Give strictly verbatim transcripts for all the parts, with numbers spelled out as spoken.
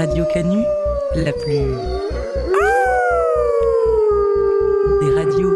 Radio Canu, la plus... des radios.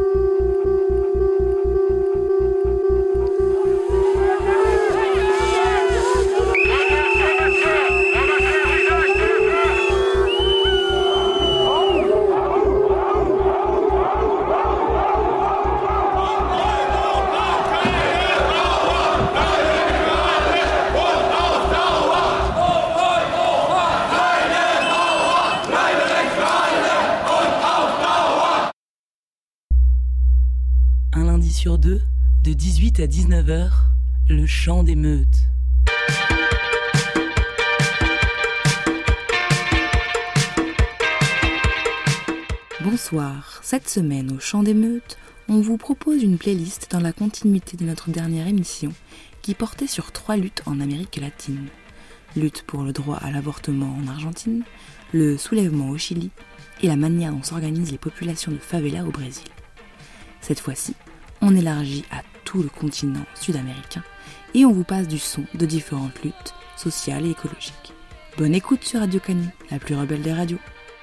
Un lundi sur deux, de dix-huit à dix-neuf heures, le chant des meutes. Bonsoir, cette semaine au chant des meutes, on vous propose une playlist dans la continuité de notre dernière émission qui portait sur trois luttes en Amérique latine. Lutte pour le droit à l'avortement en Argentine, le soulèvement au Chili et la manière dont s'organisent les populations de favelas au Brésil. Cette fois-ci, on élargit à tout le continent sud-américain et on vous passe du son de différentes luttes sociales et écologiques. Bonne écoute sur Radio Canu, la plus rebelle des radios.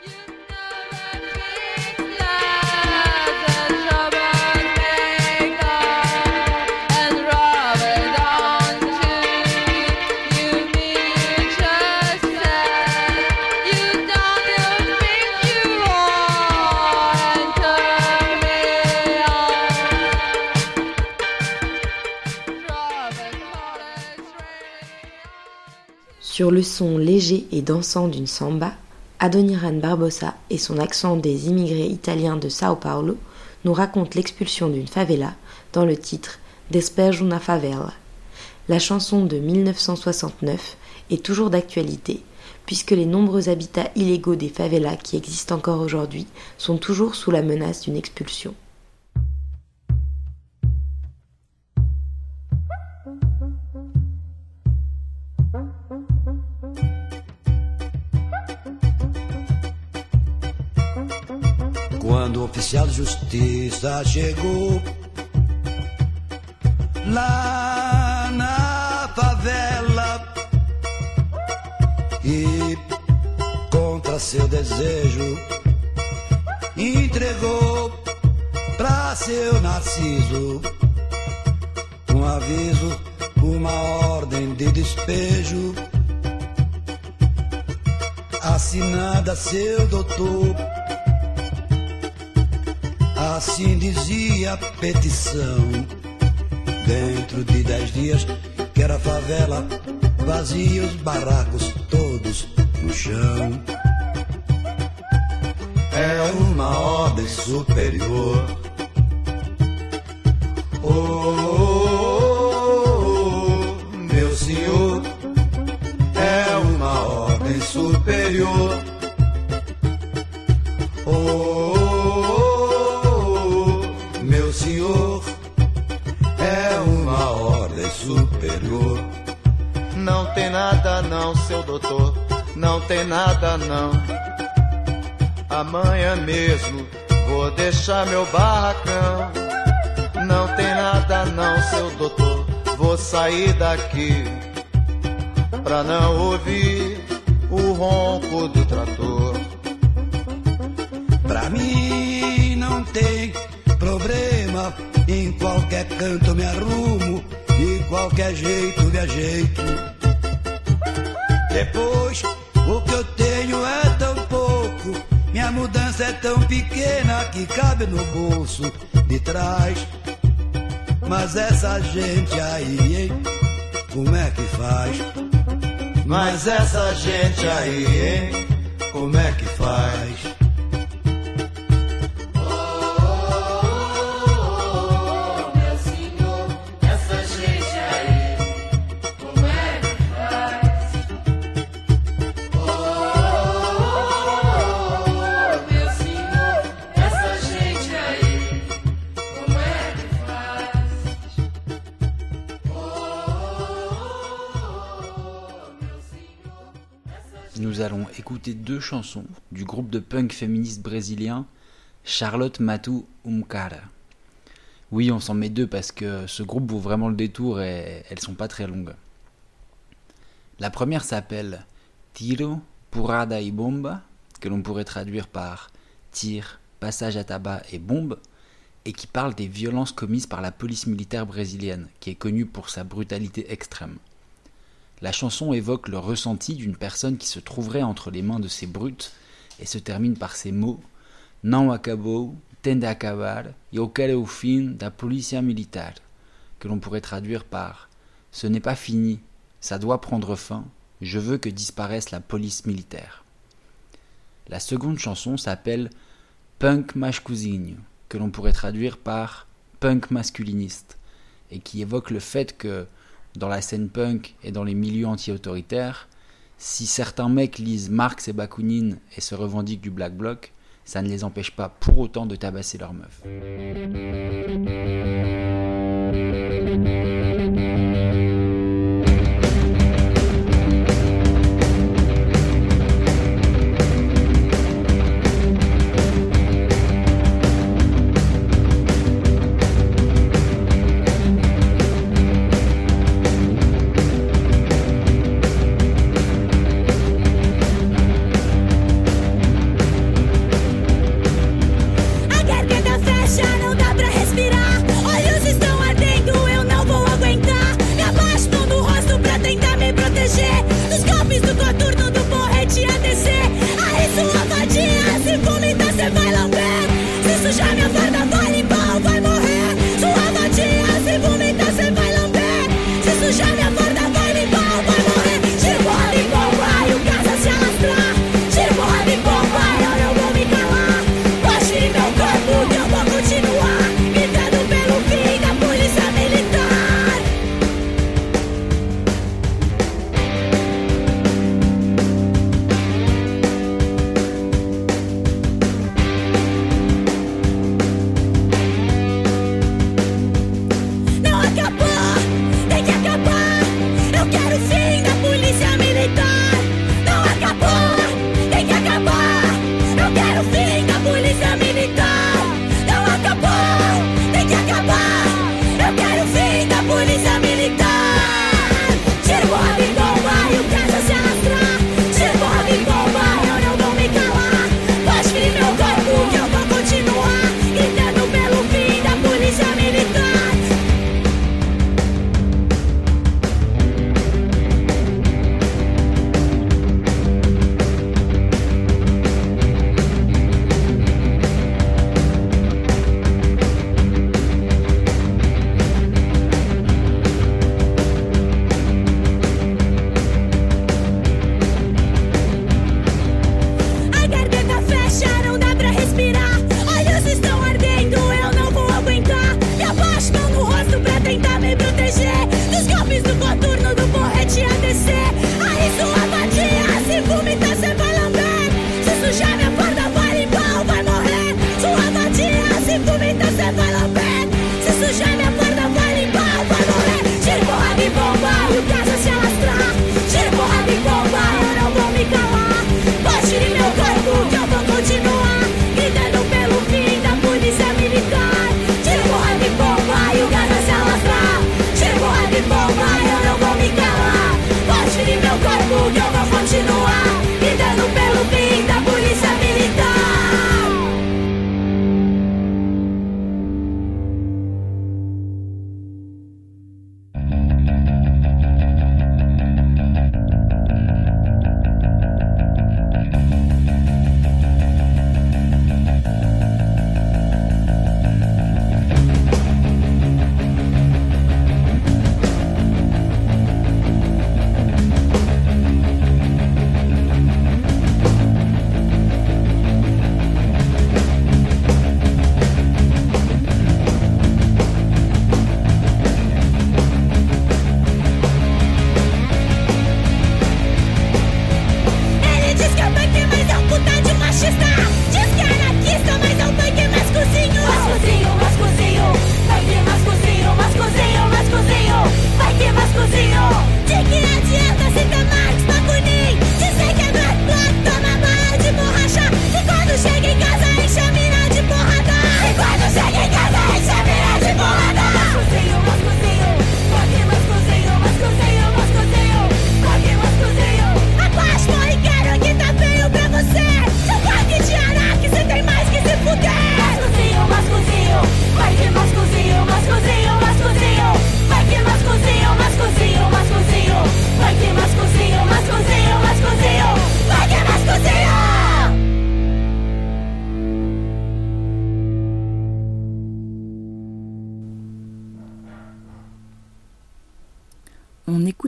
Sur le son léger et dansant d'une samba, Adoniran Barbosa et son accent des immigrés italiens de Sao Paulo nous racontent l'expulsion d'une favela dans le titre Despejo na Favela. La chanson de dix-neuf cent soixante-neuf est toujours d'actualité puisque les nombreux habitats illégaux des favelas qui existent encore aujourd'hui sont toujours sous la menace d'une expulsion. Quando o oficial de justiça chegou lá na favela e contra seu desejo entregou pra seu Narciso um aviso, uma ordem de despejo assinada seu doutor. Assim dizia a petição. Dentro de dez dias quero a favela vazia, os barracos todos no chão. É uma ordem superior. Oh, oh, oh, meu senhor, é uma ordem superior. Oh, senhor, é uma ordem superior. Não tem nada não, seu doutor, não tem nada não. Amanhã mesmo vou deixar meu barracão. Não tem nada não, seu doutor, vou sair daqui pra não ouvir o ronco do trator. Pra mim não tem problema, em qualquer canto me arrumo e qualquer jeito me ajeito. Depois, o que eu tenho é tão pouco, minha mudança é tão pequena que cabe no bolso de trás. Mas essa gente aí, hein, como é que faz? Mas essa gente aí, hein, como é que faz? Nous allons écouter deux chansons du groupe de punk féministe brésilien Charlotte Matu um Cara. Oui, on s'en met deux parce que ce groupe vaut vraiment le détour et elles sont pas très longues. La première s'appelle Tiro Purada y Bomba, que l'on pourrait traduire par tir, passage à tabac et bombe, et qui parle des violences commises par la police militaire brésilienne, qui est connue pour sa brutalité extrême. La chanson évoque le ressenti d'une personne qui se trouverait entre les mains de ces brutes et se termine par ces mots « Não acabou, tem de acabar, eu quero o fim da polícia militar », que l'on pourrait traduire par « Ce n'est pas fini, ça doit prendre fin, je veux que disparaisse la police militaire ». La seconde chanson s'appelle « Punk masculinho », que l'on pourrait traduire par « punk masculiniste », et qui évoque le fait que, dans la scène punk et dans les milieux anti-autoritaires, si certains mecs lisent Marx et Bakounine et se revendiquent du Black Bloc, ça ne les empêche pas pour autant de tabasser leurs meufs. A garganta fecha, não dá pra respirar. Olhos estão ardendo, eu não vou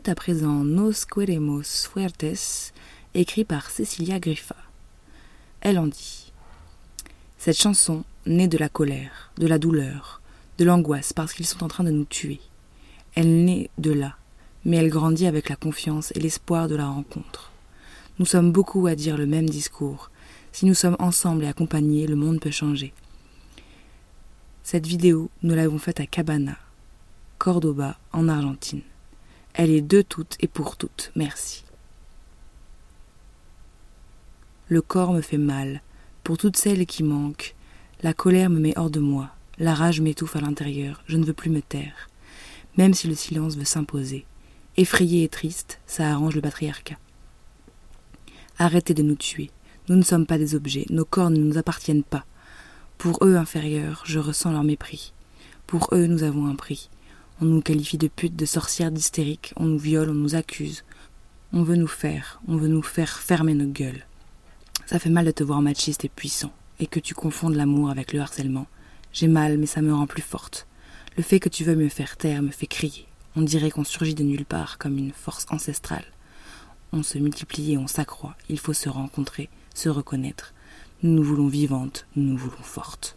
écoute à présent Nos Queremos Fuertes, écrit par Cecilia Griffa. Elle en dit « Cette chanson naît de la colère, de la douleur, de l'angoisse parce qu'ils sont en train de nous tuer. Elle naît de là, mais elle grandit avec la confiance et l'espoir de la rencontre. Nous sommes beaucoup à dire le même discours. Si nous sommes ensemble et accompagnés, le monde peut changer. Cette vidéo, nous l'avons faite à Cabana, Cordoba, en Argentine. Elle est de toutes et pour toutes. Merci. Le corps me fait mal, pour toutes celles qui manquent. La colère me met hors de moi, la rage m'étouffe à l'intérieur, je ne veux plus me taire. Même si le silence veut s'imposer. Effrayé et triste, ça arrange le patriarcat. Arrêtez de nous tuer. Nous ne sommes pas des objets, nos corps ne nous appartiennent pas. Pour eux inférieurs, je ressens leur mépris. Pour eux, nous avons un prix. On nous qualifie de putes, de sorcières, d'hystériques, on nous viole, on nous accuse. On veut nous faire, on veut nous faire fermer nos gueules. Ça fait mal de te voir machiste et puissant, et que tu confondes l'amour avec le harcèlement. J'ai mal, mais ça me rend plus forte. Le fait que tu veuilles me faire taire me fait crier. On dirait qu'on surgit de nulle part, comme une force ancestrale. On se multiplie et on s'accroît. Il faut se rencontrer, se reconnaître. Nous nous voulons vivantes, nous nous voulons fortes.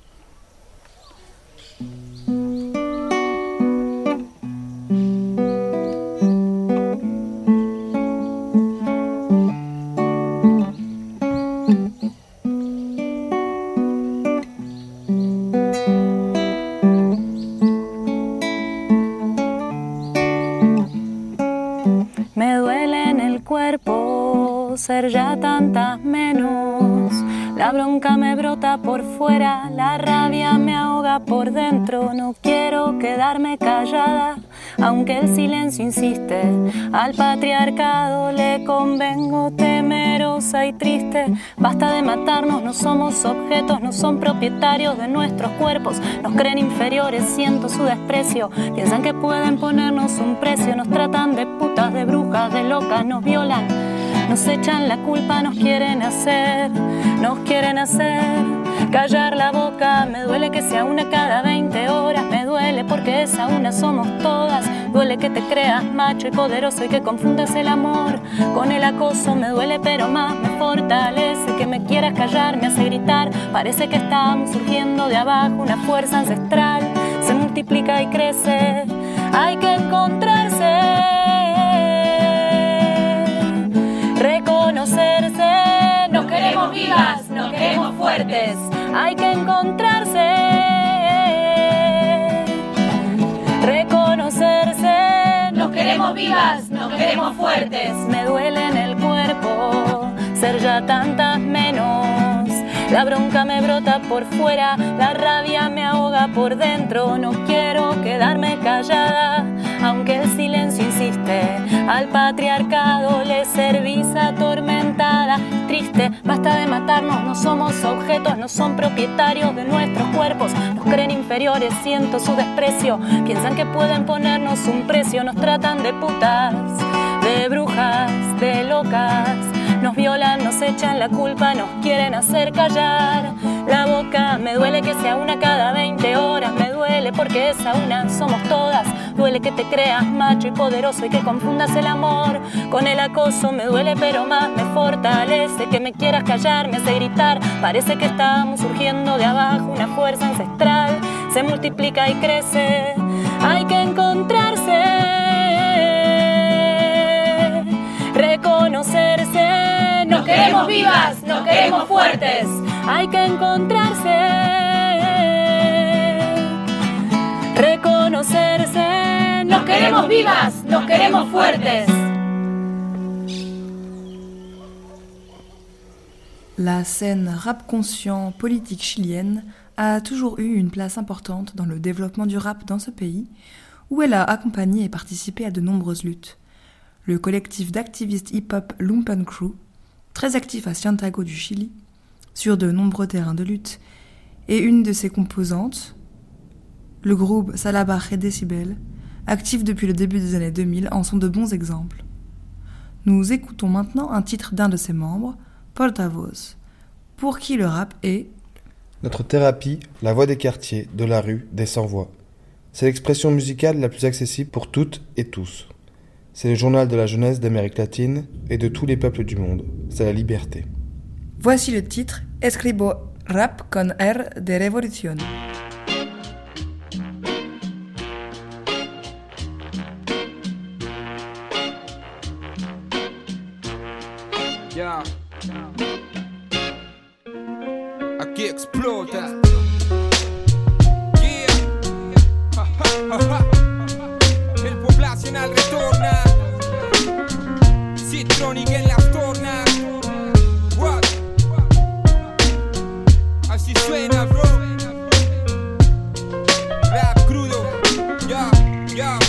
Me duele en el cuerpo ser ya tantas menos. La bronca me brota por fuera, la rabia me ahoga por dentro. No quiero quedarme callada, aunque el silencio insiste. Al patriarcado le convengo temerosa y triste. Basta de matarnos, no somos objetos, no son propietarios de nuestros cuerpos. Nos creen inferiores, siento su desprecio. Piensan que pueden ponernos un precio. Nos tratan de putas, de brujas, de locas, nos violan. Nos echan la culpa, nos quieren hacer, nos quieren hacer callar la boca. Me duele que sea una cada veinte horas, me duele porque esa una somos todas. Duele que te creas macho y poderoso y que confundas el amor con el acoso. Me duele pero más me fortalece que me quieras callar, me hace gritar. Parece que estamos surgiendo de abajo, una fuerza ancestral se multiplica y crece. Hay que encontrarse, reconocerse. Nos queremos vivas, nos queremos fuertes. Hay que encontrarse, reconocerse. Nos queremos vivas, nos queremos fuertes. Me duele en el cuerpo ser ya tantas menos. La bronca me brota por fuera, la rabia me ahoga por dentro. No quiero quedarme callada, aunque el silencio insiste. Al patriarcado le servís atormentada, triste. Basta de matarnos, no somos objetos, no son propietarios de nuestros cuerpos. Nos creen inferiores, siento su desprecio. Piensan que pueden ponernos un precio. Nos tratan de putas, de brujas, de locas. Nos violan, nos echan la culpa, nos quieren hacer callar la boca. Me duele que sea una cada veinte horas, me duele porque esa una somos todas. Duele que te creas macho y poderoso y que confundas el amor con el acoso. Me duele pero más me fortalece que me quieras callar, me hace gritar. Parece que estamos surgiendo de abajo, una fuerza ancestral se multiplica y crece. Hay que encontrarse, reconocerse. Nos queremos vivas, nos queremos fuertes. Hay que encontrarse, reconocerse. Nos queremos vivas, nos queremos fuertes. La scène rap conscient politique chilienne a toujours eu une place importante dans le développement du rap dans ce pays, où elle a accompagné et participé à de nombreuses luttes. Le collectif d'activistes hip-hop Lumpen Crew, très actif à Santiago du Chili, sur de nombreux terrains de lutte, et une de ses composantes, le groupe Salabar et Decibel, actif depuis le début des années deux mille, en sont de bons exemples. Nous écoutons maintenant un titre d'un de ses membres, Portavoz, pour qui le rap est notre thérapie, la voix des quartiers, de la rue, des sans-voix. C'est l'expression musicale la plus accessible pour toutes et tous. C'est le journal de la jeunesse d'Amérique latine et de tous les peuples du monde. C'est la liberté. Voici le titre Escribo rap con R de Revolución. Ya. Aquí explota. Yeah. Ja, ja, ja, ja. El poblacional retorna. Citronic en las tornas. What? Así suena, bro. Rap crudo. Ya, ya.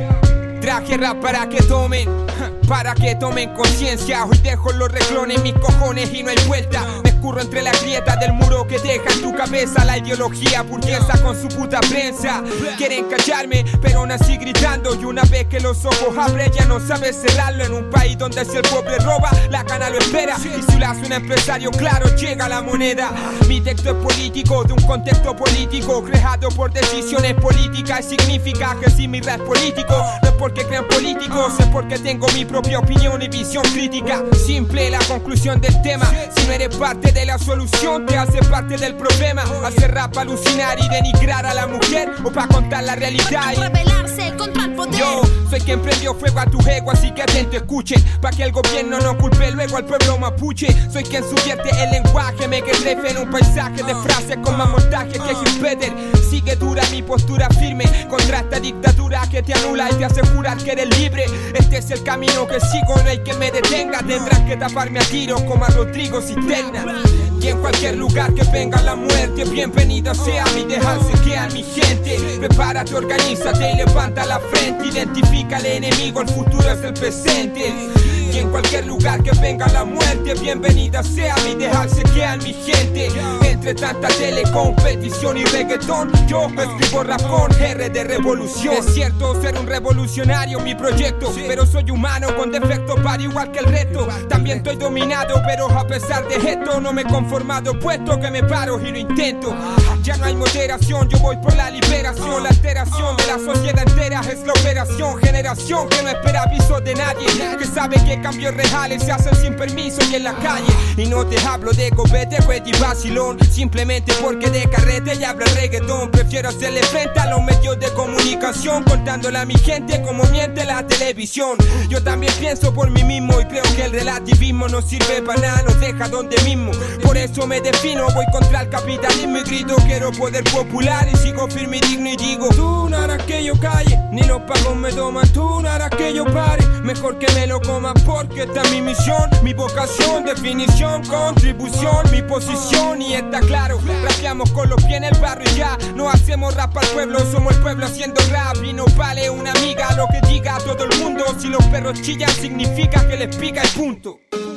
Traje rap para que tomen. Para que tomen conciencia, hoy dejo los reclones, mis cojones y no hay vuelta. Me escurro entre las grietas del muro que deja en tu cabeza la ideología burguesa con su puta prensa. Quieren callarme, pero nací gritando y una vez que los ojos abren ya no sabes cerrarlo. En un país donde si el pobre roba, la gana lo espera. Y si lo hace un empresario, claro, llega la moneda. Mi texto es político, de un contexto político creado por decisiones políticas. Y significa que si mi rap es político, no es porque crean políticos, es porque tengo mi propia opinión y visión crítica. Simple la conclusión del tema. Si no eres parte de la solución, te hace parte del problema. Hacer rap, alucinar y denigrar a la mujer, o para contar la realidad y rebelarse contra el poder. Yo soy quien prendió fuego a tu ego, así que atento, escuchen, pa' que el gobierno no culpe luego al pueblo mapuche. Soy quien subvierte el lenguaje, me que trefe en un paisaje de frases con más montaje que Gil Peter. Sigue dura mi postura firme contra esta dictadura que te anula y te asegura que eres libre. Este es el camino que sigo, no hay que me detenga. Tendrás que taparme a tiros como a Rodrigo Cisterna. Y en cualquier lugar que venga la muerte, bienvenida sea mi dejarse que a mi gente. Prepárate, organízate y levanta la frente. Identifica al enemigo, el futuro es el presente. Y en cualquier lugar que venga la muerte, bienvenida sea mi dejarse que a mi gente. Entre tanta telecompetición y reggaetón, yo escribo rap con R de revolución. Es cierto ser un revolucionario mi proyecto, pero soy humano con defectos para igual que el resto. También estoy dominado, pero a pesar de esto no me he conformado, puesto que me paro y lo intento. Ya no hay moderación, yo voy por la liberación. La alteración de la sociedad entera es la operación. Generación que no espera aviso de nadie, que sabe que cambios reales se hacen sin permiso y en la calle. Y no te hablo de copete, cuete y vacilón, simplemente porque de carrete y habla el reggaetón. Prefiero hacerle frente a los medios de comunicación, contándole a mi gente como miente la televisión. Yo también pienso por mí mismo y creo que el relativismo no sirve para nada, nos deja donde mismo. Por eso me defino, voy contra el capitalismo y grito quiero poder popular y sigo firme y digno y digo: tú no harás que yo calle, ni los pagos me toman, tú no harás que yo pare, mejor que me lo coma porque esta es mi misión, mi vocación, definición, contribución, mi posición y está claro, rapeamos con los pies en el barrio y ya, no hacemos rap al pueblo, somos el pueblo haciendo rap y no vale una amiga lo que diga todo el mundo, si los perros chillan significa que les pica el punto.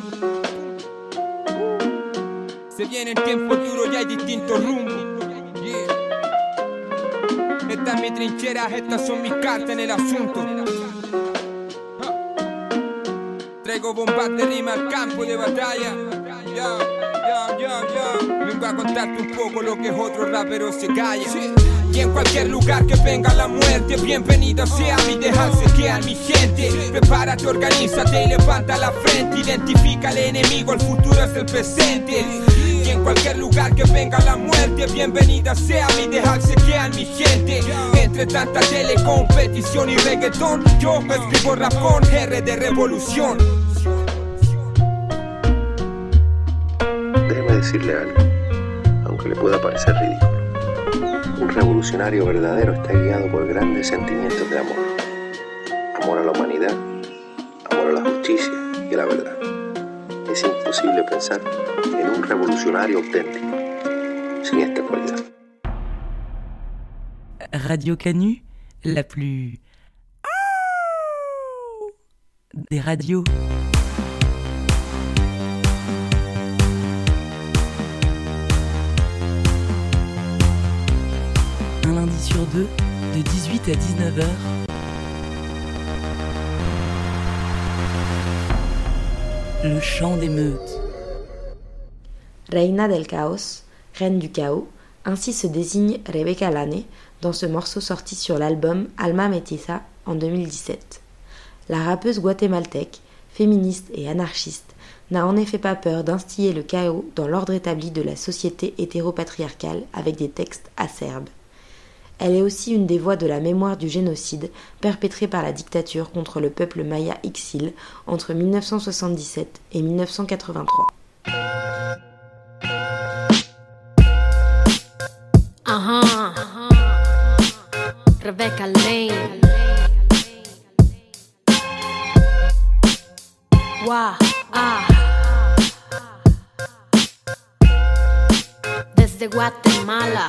Se vienen tiempos duros y hay distintos rumbos. Yeah. Esta es mi trinchera, estas son mis cartas en el asunto. Traigo bombas de rima al campo de batalla. Ya, ya, ya, ya. Vengo a contarte un poco lo que es otro rapero se calla. Y en cualquier lugar que venga la muerte, bienvenida sea mi dejarse que a mi gente. Prepárate, organízate y levanta la frente. Identifica al enemigo, el futuro es el presente. Y en cualquier lugar que venga la muerte, bienvenida sea mi dejarse que a mi gente. Entre tanta telecompetición y reggaetón, yo escribo rap con R de revolución. Déjeme decirle algo, aunque le pueda parecer ridículo. Un revolucionario verdadero está guiado por grandes sentimientos de amor. Amor a la humanidad, amor a la justicia y a la verdad. Es imposible pensar en un revolucionario auténtico sin esta cualidad. Radio Canu, la plus des radios. Un lundi sur deux, de dix-huit à dix-neuf heures. Le chant des meutes. Reina del Caos, reine du chaos, ainsi se désigne Rebecca Lane dans ce morceau sorti sur l'album Alma Mestiza en deux mille dix-sept. La rappeuse guatémaltèque, féministe et anarchiste, n'a en effet pas peur d'instiller le chaos dans l'ordre établi de la société hétéropatriarcale avec des textes acerbes. Elle est aussi une des voix de la mémoire du génocide perpétré par la dictature contre le peuple maya Ixil entre mille neuf cent soixante-dix-sept et mille neuf cent quatre-vingt-trois. Ajá, Rebecca Lane. Wow, ah. Desde Guatemala,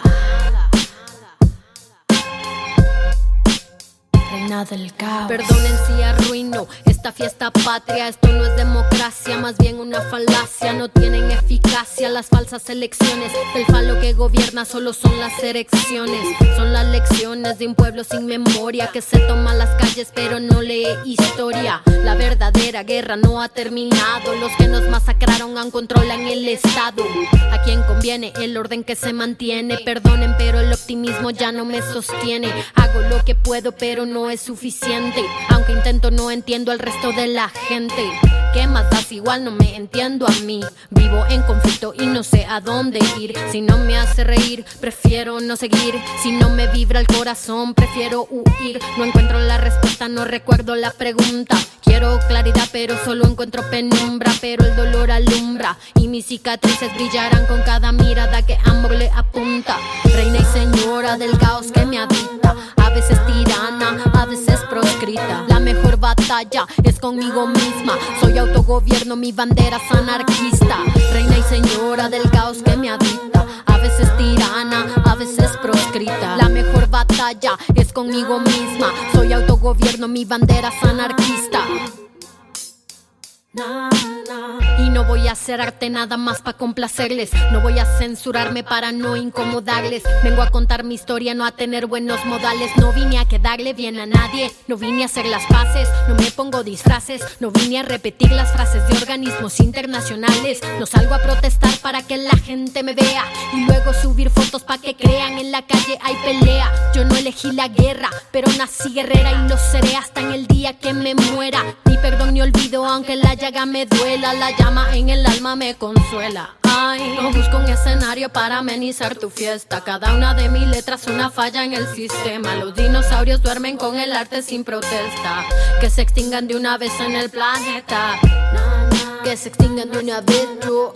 reina del caos. Perdonen si arruino esta fiesta patria. Esto no es democracia, más bien una falacia. No tienen eficacia las falsas elecciones. El falo que gobierna solo son las erecciones. Son las lecciones de un pueblo sin memoria que se toma las calles pero no lee historia. La verdadera guerra no ha terminado. Los que nos masacraron aún controlan el estado. A quien conviene el orden que se mantiene. Perdonen pero el optimismo ya no me sostiene. Hago lo que puedo pero no es suficiente. Aunque intento no entiendo al resto de la gente. ¿Qué más das? Igual no me entiendo a mí. Vivo en conflicto y no sé a dónde ir. Si no me hace reír, prefiero no seguir. Si no me vibra el corazón, prefiero huir. No encuentro la respuesta, no recuerdo la pregunta. Quiero claridad, pero solo encuentro penumbra. Pero el dolor alumbra y mis cicatrices brillarán con cada mirada que amor le apunta. Reina y señora del caos que me habita. A veces tirana, a veces proscrita. La mejor batalla es conmigo misma. Soy autogobierno, mi bandera es anarquista. Reina y señora del caos que me habita. A veces tirana, a veces proscrita. La mejor batalla es conmigo misma. Soy autogobierno, mi bandera es anarquista. Y no voy a hacer arte nada más para complacerles. No voy a censurarme para no incomodarles. Vengo a contar mi historia, no a tener buenos modales. No vine a quedarle bien a nadie. No vine a hacer las paces, no me pongo disfraces. No vine a repetir las frases de organismos internacionales. No salgo a protestar para que la gente me vea y luego subir fotos para que crean en la calle hay pelea. Yo no elegí la guerra, pero nací guerrera y lo seré hasta en el día que me muera. Ni perdón ni olvido aunque la llaga me duela. La llama en el alma me consuela. Ay, no busco un escenario para amenizar tu fiesta. Cada una de mis letras una falla en el sistema. Los dinosaurios duermen con el arte sin protesta. Que se extingan de una vez en el planeta. Que se extingan de una vez, yo.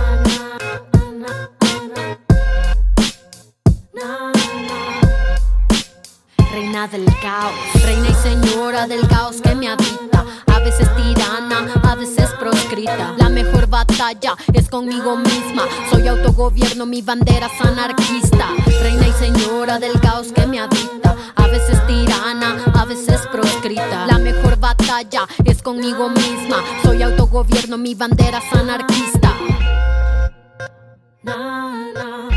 Reina del caos, reina y señora del caos que me habita. A veces tirana, a veces proscrita. La mejor batalla es conmigo misma. Soy autogobierno, mi bandera es anarquista. Reina y señora del caos que me habita. A veces tirana, a veces proscrita. La mejor batalla es conmigo misma. Soy autogobierno, mi bandera es anarquista. Na, na.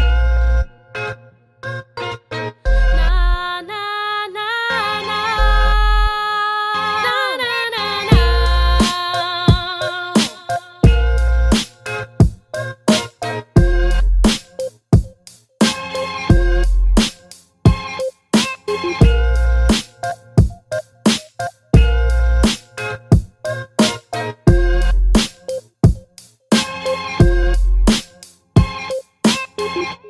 Thank you.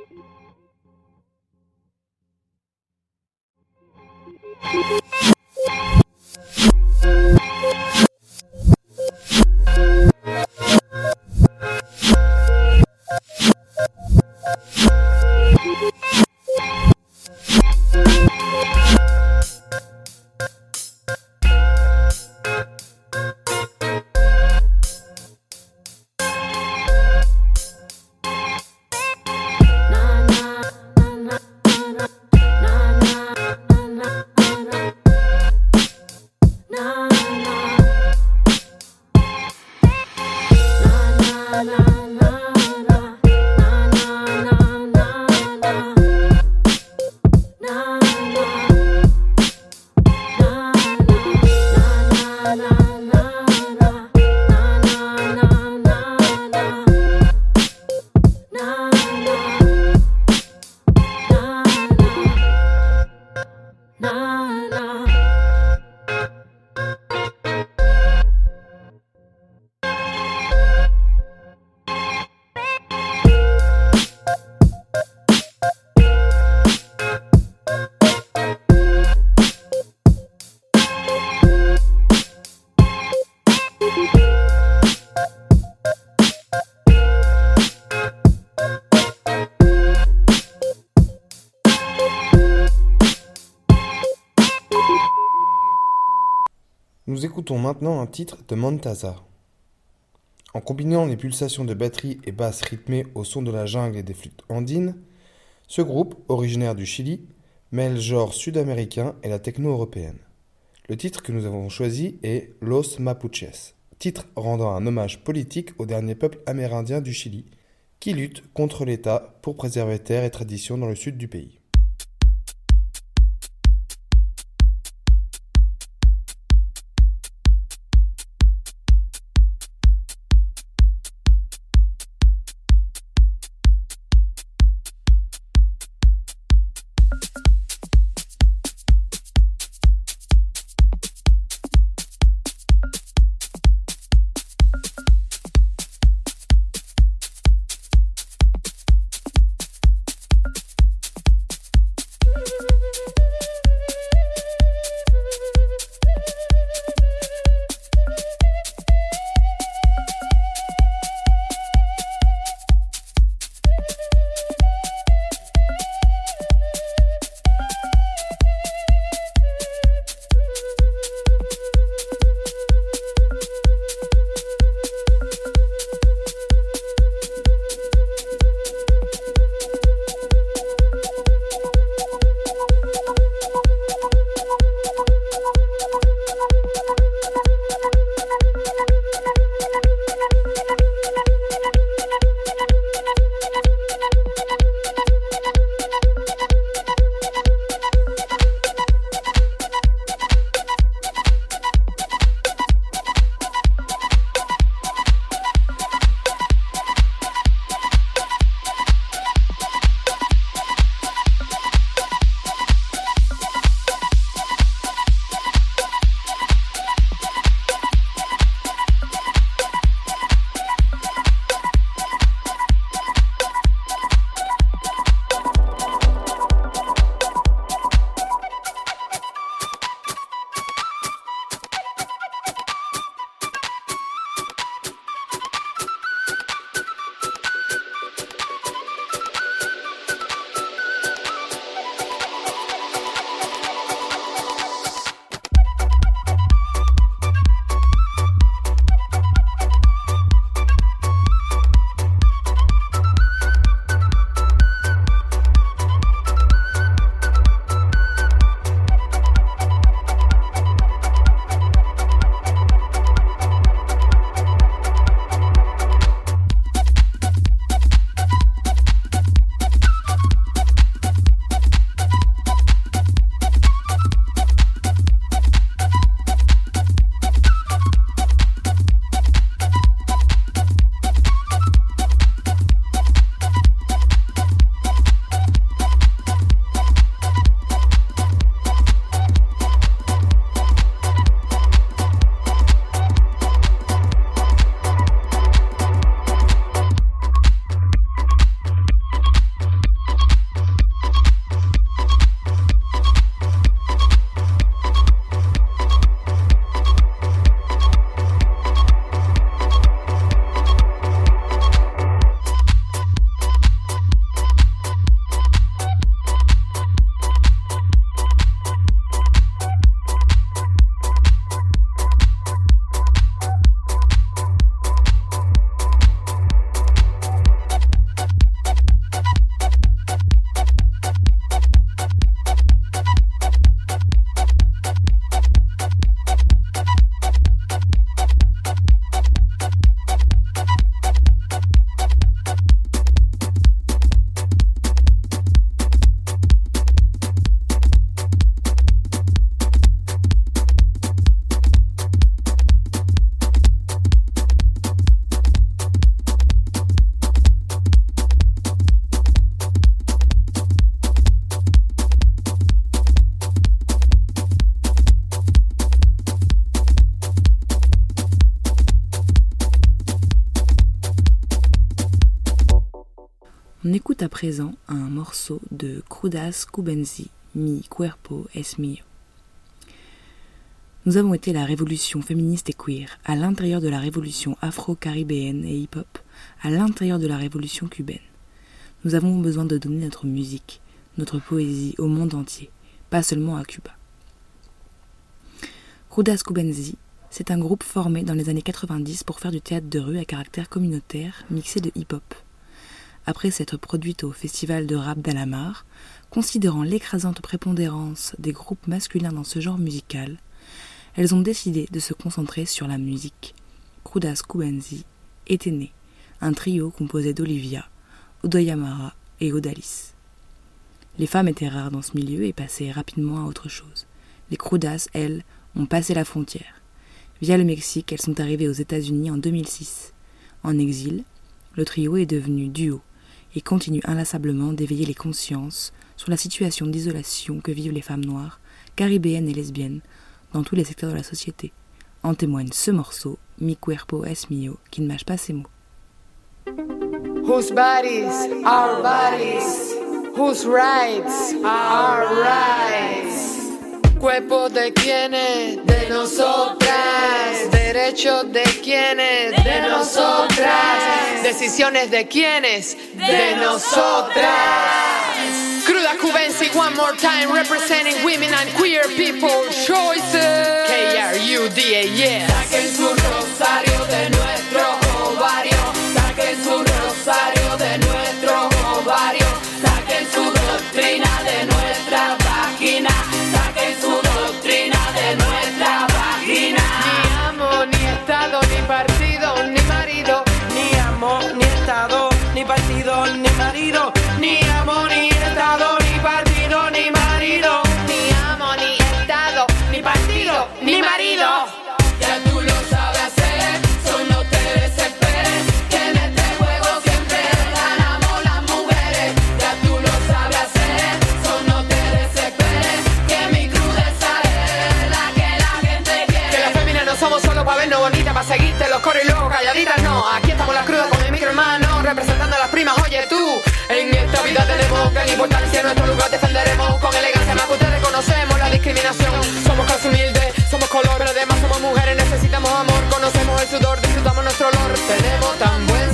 Écoutons maintenant un titre de Montasa. En combinant les pulsations de batterie et basses rythmées au son de la jungle et des flûtes andines, ce groupe, originaire du Chili, mêle genre sud-américain et la techno européenne. Le titre que nous avons choisi est Los Mapuches, titre rendant un hommage politique au dernier peuple amérindien du Chili, qui lutte contre l'État pour préserver terres et traditions dans le sud du pays. On écoute à présent un morceau de Crudas Cubensi, Mi Cuerpo es Mío. Nous avons été la révolution féministe et queer, à l'intérieur de la révolution afro-caribéenne et hip-hop, à l'intérieur de la révolution cubaine. Nous avons besoin de donner notre musique, notre poésie au monde entier, pas seulement à Cuba. Crudas Cubensi C'est un groupe formé dans les années quatre-vingt-dix pour faire du théâtre de rue à caractère communautaire mixé de hip-hop. Après s'être produite au festival de rap d'Alamar, considérant l'écrasante prépondérance des groupes masculins dans ce genre musical, elles ont décidé de se concentrer sur la musique. Krudas Kubenzi était né, un trio composé d'Olivia, Odoyamara et Odalis. Les femmes étaient rares dans ce milieu et passaient rapidement à autre chose. Les Krudas, elles, ont passé la frontière. Via le Mexique, elles sont arrivées aux États-Unis en deux mille six. En exil, le trio est devenu duo et continue inlassablement d'éveiller les consciences sur la situation d'isolation que vivent les femmes noires, caribéennes et lesbiennes, dans tous les secteurs de la société. En témoigne ce morceau, Mi Cuerpo Es Mio, qui ne mâche pas ses mots. Whose bodies are bodies, whose rights are rights. Cuerpo de quienes, de nosotras. Derechos de quienes, de nosotras. Decisiones de quienes, de nosotras. Krudas Kubenzi one more time, representing women and queer people choices. K R U D A S. Saquen su rosario de nuestro ovario. Saquen su rosario de nuestro ovario. Saquen su doctrina de nuestra vagina. Saquen su doctrina de nuestra vagina. Ni amo, ni estado, ni partido, ni marido. Ni amo, ni estado, ni partido, ni marido. Ni amo, ni estado, ni partido, ni marido. Ni amo, ni estado, ni partido, ni marido. Ya tú lo sabes hacer, solo no te desesperes, que en este juego siempre ganamos las mujeres. Ya tú lo sabes hacer, solo no te desesperes, que mi crudeza es la que la gente quiere. Que las féminas no somos solo pa' vernos bonitas, pa' seguirte los coros y luego calladitas, no. Aquí estamos las crudas con el micro hermano, representando a las primas, oye tú. En esta vida tenemos gran importancia, nuestro lugar defenderemos con elegancia, más que ustedes conocemos la discriminación. Somos clase humilde, somos color, pero además somos mujeres, necesitamos amor, conocemos el sudor, disfrutamos nuestro olor, tenemos tan buen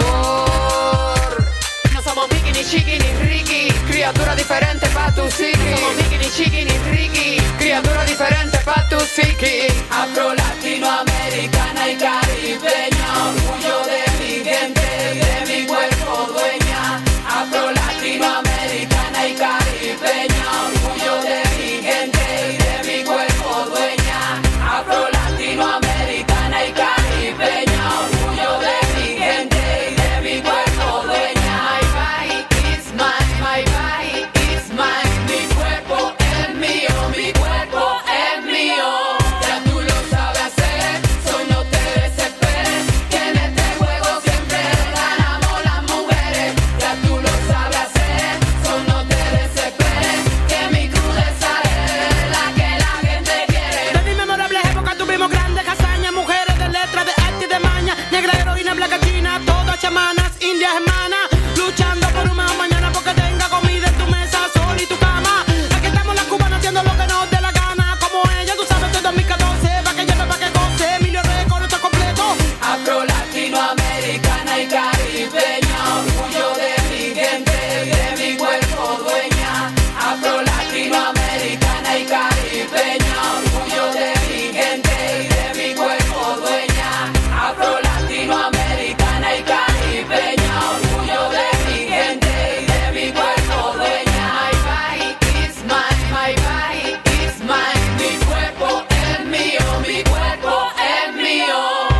sabor. No somos Mickey, ni Chiqui, ni Ricky, criatura diferente pa' tu psiqui. No somos Mickey, ni Chiqui, ni Ricky, criatura diferente pa' tu psiqui. Afro, latinoamericana y caribeña, orgullo de mi gente y de mi cuerpo dueña. Afro, latinoamericana y caribeña, orgullo de mi gente y de mi cuerpo dueña. Afro, latinoamericana y caribeña, orgullo de mi gente y de mi cuerpo dueña. My body is mine, my body is mine. Mi cuerpo es mío, mi cuerpo es mío. Ya tú lo sabes hacer, solo no te desesperes, que en este juego siempre ganamos las mujeres. Ya tú lo sabes hacer, solo no te desesperes, que mi crudeza es la que la gente quiere. De mi memorable época tuvimos grandes hazañas, mujeres de letra, de arte y de maña, negra heroína, blanca china, todas chamanas, indias hermanas, luchando por un mejor mañana porque tenga comida en tu mesa, sol y tu cama. Aquí estamos las cubanas haciendo lo que nos dé la gana, como ella, tú sabes, de dos mil catorce, pa' que lleve, pa' que goce, Emilio Récord, esto es completo. Afro, latinoamericana y caribeña, orgullo de mi gente y de mi cuerpo dueña. Afro, latinoamericana y caribeña, orgullo de mi gente y de mi cuerpo dueña. Afro, latinoamericana y caribeña, orgullo de mi gente y de mi cuerpo dueña. My body is mine, my body is mine. Mi cuerpo es mío, mi cuerpo es mío.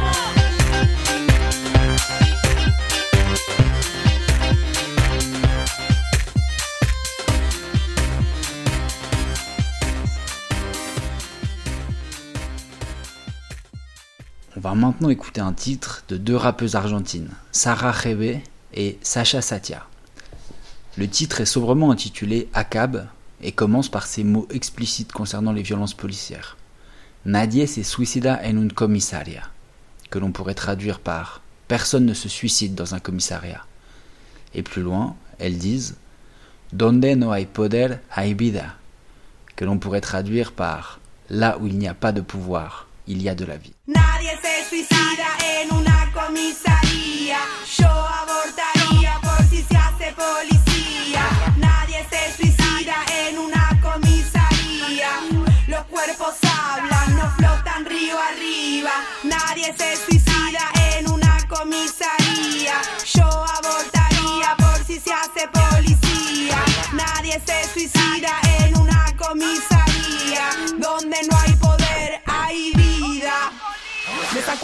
On va maintenant écouter un titre de deux rappeuses argentines, Sara Rebe et Sasha Satia. Le titre est sobrement intitulé Acab et commence par ces mots explicites concernant les violences policières. Nadie se suicida en un comisaria, que l'on pourrait traduire par Personne ne se suicide dans un commissariat. Et plus loin, elles disent Donde no hay poder hay vida, que l'on pourrait traduire par Là où il n'y a pas de pouvoir, il y a de la vie. Nadie se suicida en una comisaría. Yo abortaría por si se hace policía. Nadie se suicida en una comisaría. Los cuerpos hablan, no flotan río arriba.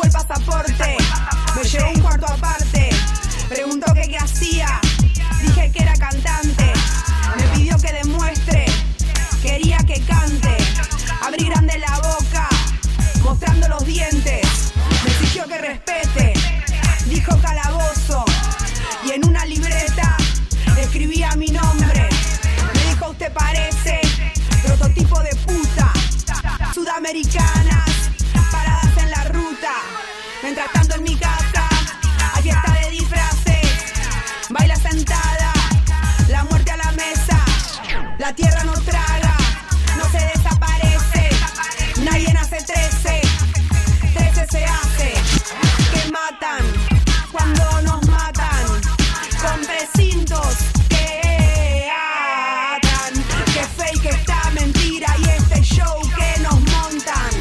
el pasaporte, me llevó un cuarto aparte. Preguntó que qué hacía, dije que era cantante. Me pidió que demuestre, quería que cante. Abrí grande la boca, mostrando los dientes. Me exigió que respete, dijo calabozo. Y en una libreta escribía mi nombre. Me dijo usted parece prototipo de puta. Sudamericanas, paradas en la ruta. Mientras tanto en mi casa hay fiesta de disfraces. Baila sentada, la muerte a la mesa. La tierra no traga, no se desaparece. Nadie nace trece, trece se hace. Que matan cuando nos matan, con precintos que atan. Que fake esta mentira y este show que nos montan.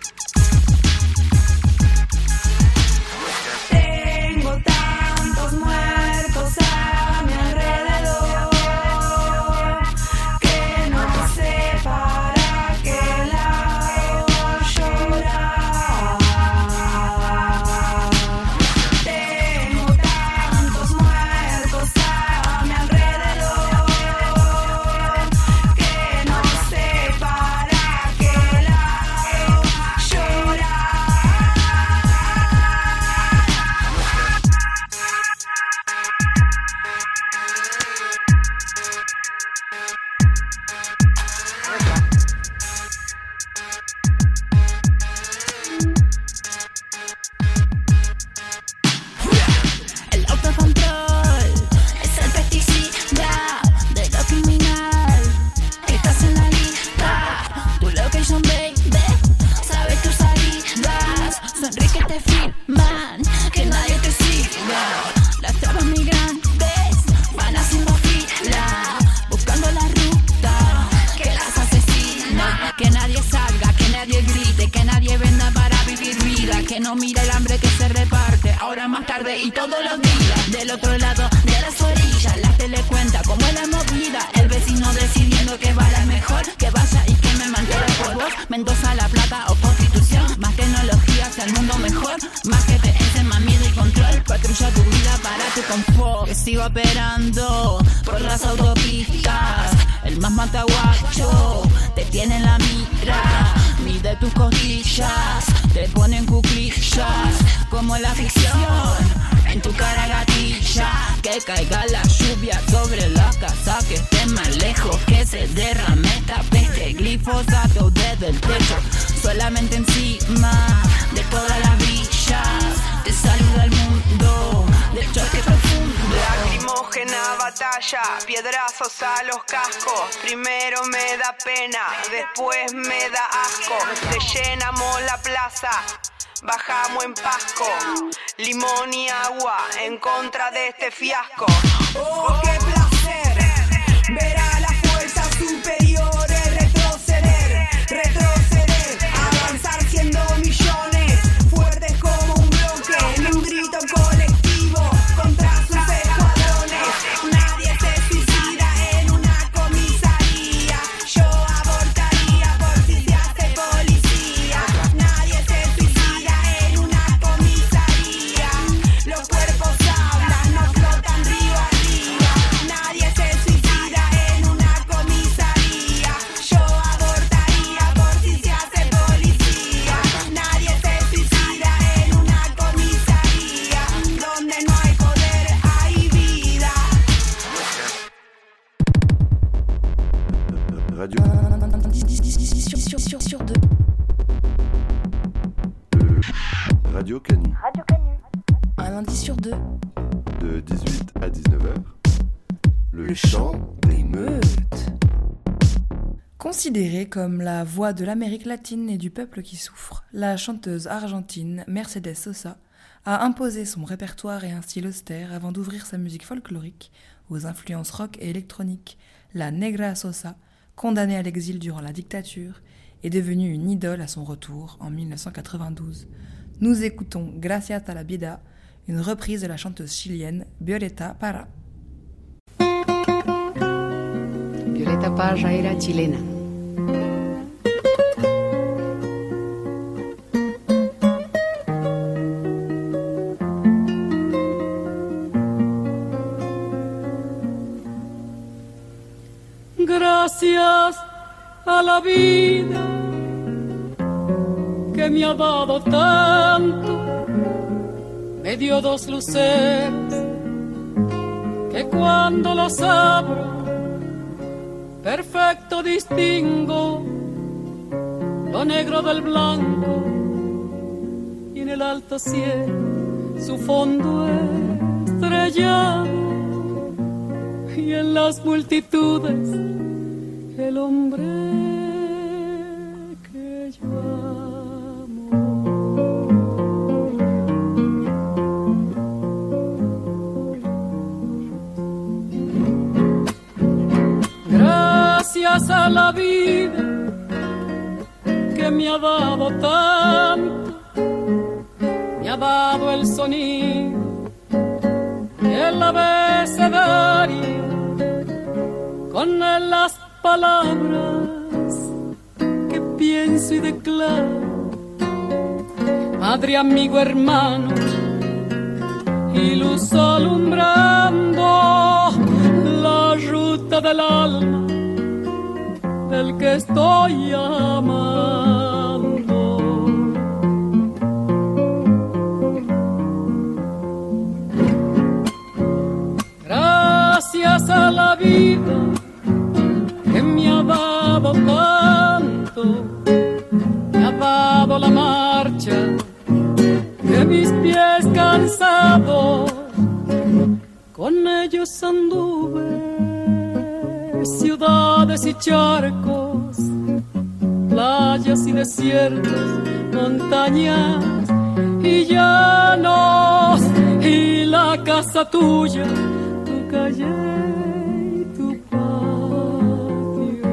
Tengo tantos muertos a mi alrededor que no sé para qué lado llorar. Tengo tantos muertos a mi alrededor que no sé para qué lado llorar. El autocontrol es el pesticida de lo criminal. Estás en la lista, tu location baby, sabes tus salidas. Sonríe que te filman, que nadie te siga. Las trabas migrantes van haciendo fila, buscando la ruta que las asesina. Que nadie salga, que nadie grite, que nadie venda para vivir vida. Que no mire el hambre que se reparte, ahora más tarde y todos los días. Del otro lado de las orillas, la tele cuenta como es la movida. El vecino decidiendo que va la mejor, que vaya y que me mantenga por vos. Mendoza, La Plata o Constitución, más tecnología hacia el mundo mejor. Más que te encen, más miedo y control. Patrulla tu vida para tu confort. Que sigo operando por las autopistas. El más mataguacho te tiene en la mira. Mide tus costillas, te ponen cuclillas como la ficción. En tu cara gatilla, que caiga la lluvia sobre la casa, que esté más lejos, que se derrame esta peste. Glifosato desde el techo, solamente encima de todas las villas. Te saluda el mundo del choque profundo. Lacrimógena batalla, piedrazos a los cascos. Primero me da pena, después me da asco. Te llenamos la plaza, bajamos en Pasco. Limón y agua en contra de este fiasco. Oh, qué placer ver a las fuerzas superiores retroceder, retroceder, avanzar siendo millones, fuertes como un bloque, en un grito colectivo contra sus escuadrones. Nadie se suicida en una comisaría, yo abortaría por si se hace policía. Nadie se suicida en una comisaría, los cuerpos hablan, no flotan río arriba. Nadie se suicida en una comisaría, yo abortaría por si se hace policía. Nadie se suicida en una comisaría, donde no hay poder hay vida. Radio. Radio Canu. Radio Canu. Un lundi sur deux. De dix-huit à dix-neuf heures. Le, Le chant des meutes. Considérée comme la voix de l'Amérique latine et du peuple qui souffre, la chanteuse argentine Mercedes Sosa a imposé son répertoire et un style austère avant d'ouvrir sa musique folklorique aux influences rock et électroniques. La Negra Sosa, condamnée à l'exil durant la dictature, est devenue une idole à son retour en mille neuf cent quatre-vingt-douze. Nous écoutons Gracias a la Vida, une reprise de la chanteuse chilienne Violeta Parra. Violeta Parra era chilena. Gracias a la vida que me ha dado tanto, me dio dos luceros que cuando las abro perfecto distingo lo negro del blanco y en el alto cielo su fondo estrellado y en las multitudes el hombre que yo amo. Gracias a la vida que me ha dado tanto, me ha dado el sonido y el abecedario, con él las palabras que pienso y declaro, madre, amigo, hermano, y luz alumbrando la ruta del alma del que estoy amando. Gracias a la vida que me ha dado tanto, me ha dado la marcha de mis pies cansados, con ellos anduve ciudades y charcos, playas y desiertos, montañas y llanos, y la casa tuya, tu calle y tu patio.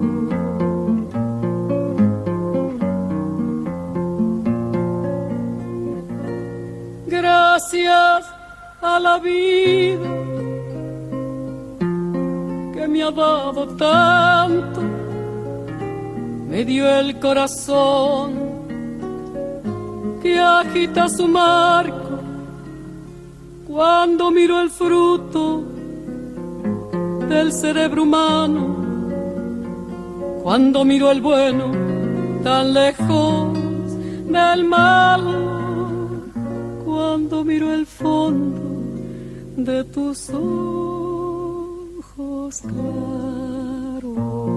Gracias a la vida que me ha dado tanto, me dio el corazón que agita su marco cuando miro el fruto del cerebro humano, cuando miro el bueno tan lejos del mal, cuando miro el fondo de tus ojos claros.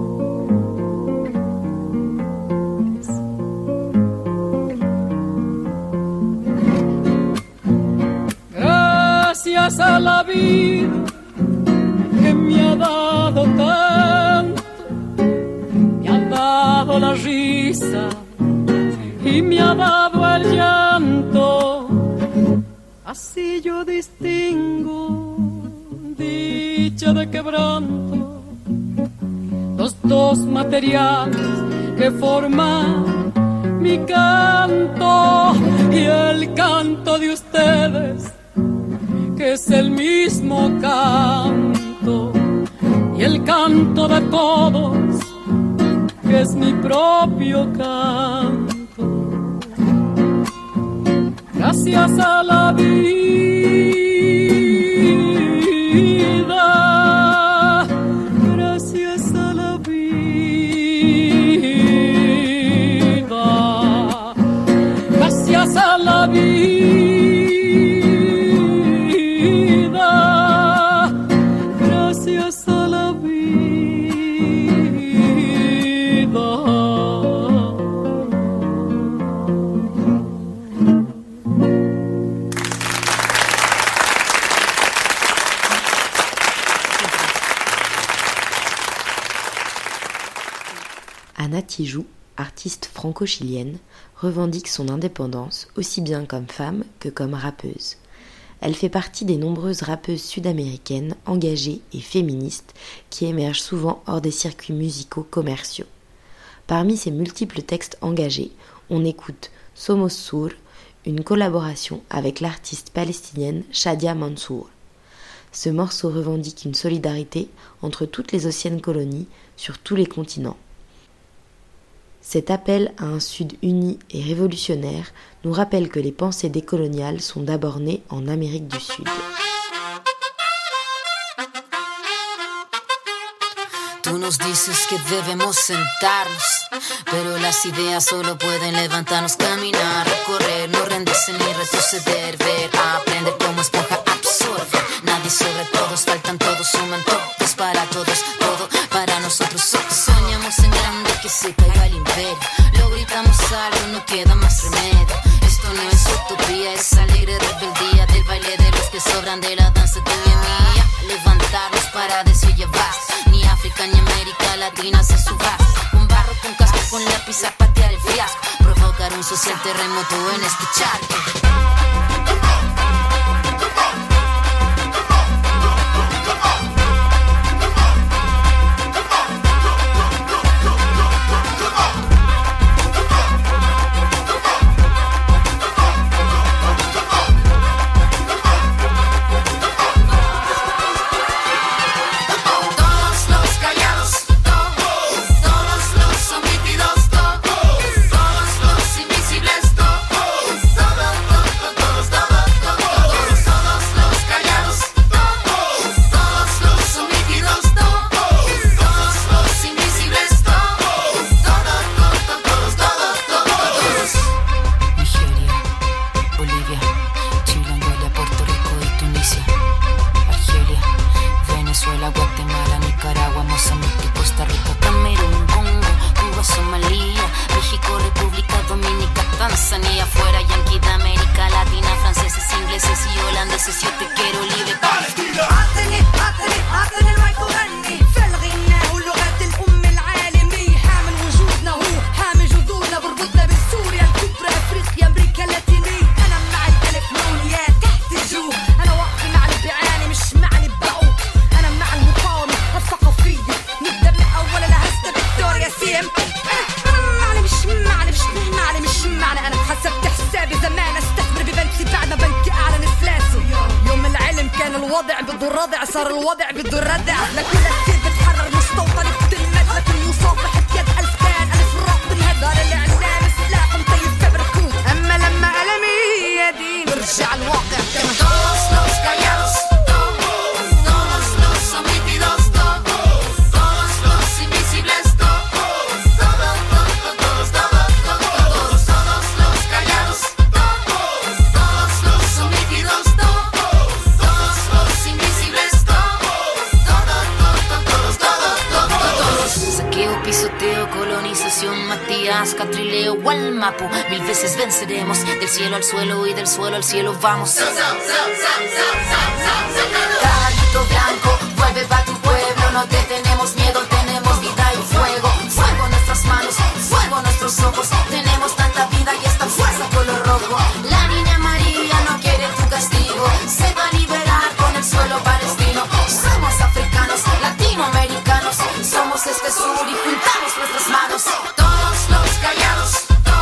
Gracias a la vida que me ha dado tanto, me ha dado la risa y me ha dado el llanto, así yo distingo dicha de quebranto, los dos materiales que forman mi canto y el canto de ustedes, que es el mismo canto, y el canto de todos, que es mi propio canto. Gracias a la vida, gracias a la vida, gracias a la vida, gracias a la vida. Anna Tijoux, artiste franco-chilienne, revendique son indépendance aussi bien comme femme que comme rappeuse. Elle fait partie des nombreuses rappeuses sud-américaines engagées et féministes qui émergent souvent hors des circuits musicaux commerciaux. Parmi ses multiples textes engagés, on écoute Somos Sur, une collaboration avec l'artiste palestinienne Shadia Mansour. Ce morceau revendique une solidarité entre toutes les anciennes colonies sur tous les continents. Cet appel à un Sud uni et révolutionnaire nous rappelle que les pensées décoloniales sont d'abord nées en Amérique du Sud. Tú Tú nos dices que debemos sentarnos, pero las ideas solo pueden levantarnos, caminar, recorrer, no rendirse ni retroceder, ver, aprender como esponja, absorber. Nadie sobre todos, faltan todos, suman todos para todos, todo para nosotros. Soñamos en grande que se caiga el imperio, lo gritamos algo, no queda más remedio. Esto no es utopía, es alegre rebeldía del baile de los que sobran de la danza tuya y mía. Levantarnos para desollevar, ni África ni América Latina se suba. Con barro, con casco, con lápiz a patear el fiasco, provocar un social terremoto en este charco. Al suelo y del suelo al cielo vamos. Caballito blanco, vuelve pa' tu pueblo. No te tenemos miedo, tenemos vida y fuego. Fuego en nuestras manos, fuego en nuestros ojos. Tenemos tanta vida y esta fuerza color rojo. La niña María no quiere tu castigo, se va a liberar con el suelo palestino. Somos africanos, latinoamericanos, somos este sur y juntamos nuestras manos. Todos los callados,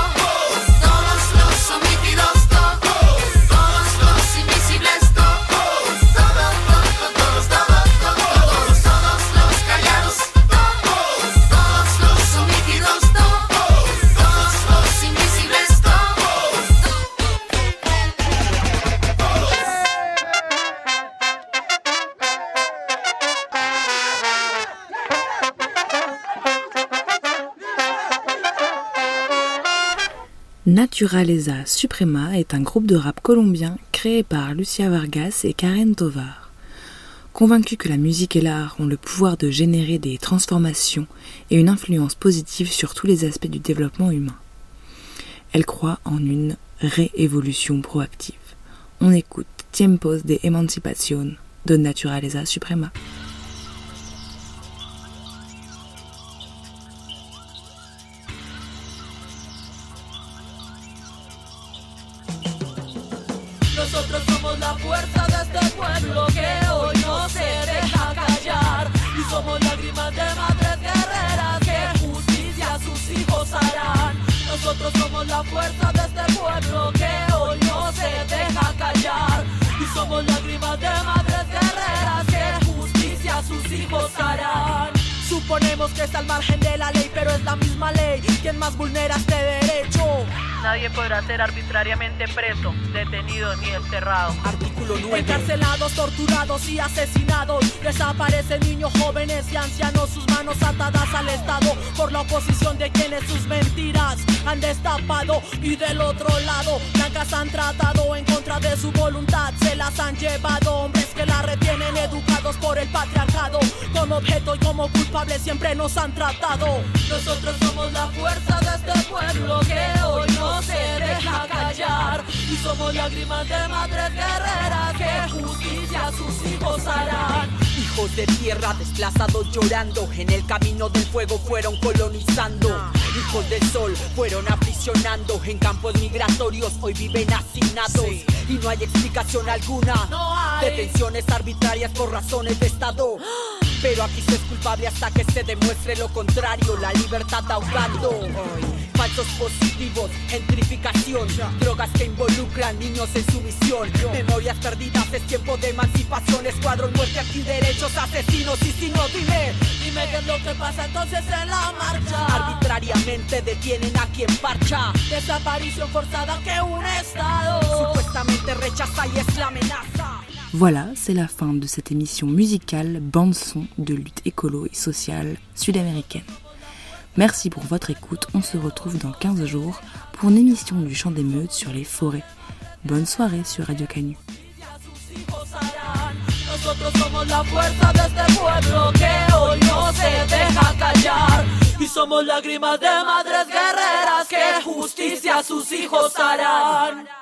Naturaleza Suprema est un groupe de rap colombien créé par Lucia Vargas et Karen Tovar. Convaincus que la musique et l'art ont le pouvoir de générer des transformations et une influence positive sur tous les aspects du développement humain, elle croit en une réévolution proactive. On écoute Tiempos de Emancipación de Naturaleza Suprema. Nosotros somos la fuerza de este pueblo que hoy no se deja callar. Y somos lágrimas de madres guerreras que justicia a sus hijos harán. Nosotros somos la fuerza de este pueblo que hoy no se deja callar. Y somos lágrimas de madres guerreras que justicia a sus hijos harán. Suponemos que está al margen de la ley, pero es la misma ley quien más vulnera este derecho. Nadie podrá ser árbitro arbitrariamente preso, detenido ni desterrado. Artículo nueve. Encarcelados, torturados y asesinados. Desaparecen niños, jóvenes y ancianos, sus manos atadas al Estado por la oposición de quienes sus mentiras han destapado. Y del otro lado, blancas han tratado en contra de su voluntad, se las han llevado. Hombres que la retienen, educados por el patriarcado, como objeto y como culpables siempre nos han tratado. Nosotros somos la fuerza de este pueblo que hoy no se deja callar, y somos lágrimas de madres guerreras que justicia a sus hijos harán. Hijos de tierra desplazados llorando, en el camino del fuego fueron colonizando. Hijos del sol fueron aprisionando, en campos migratorios hoy viven hacinados. Sí. Y no hay explicación alguna, no hay. Detenciones arbitrarias por razones de Estado. Pero aquí se es culpable hasta que se demuestre lo contrario. La libertad ahogando, falsos positivos, gentrificación, drogas que involucran niños en sumisión, memorias perdidas, es tiempo de emancipación. Escuadrón, muerte, antiderechos, asesinos y si no, dime Dime qué es lo que pasa entonces en la marcha. Arbitrariamente detienen a quien parcha. Desaparición forzada que un Estado supuestamente rechaza y es la amenaza. Voilà, c'est la fin de cette émission musicale bande-son de lutte écolo et sociale sud-américaine. Merci pour votre écoute, on se retrouve dans quinze jours pour une émission du Chant des Meutes sur les forêts. Bonne soirée sur Radio Canu. Nosotros somos la fuerza de este pueblo que hoy no se deja callar, y somos lágrimas de madres guerreras que justicia a sus hijos harán.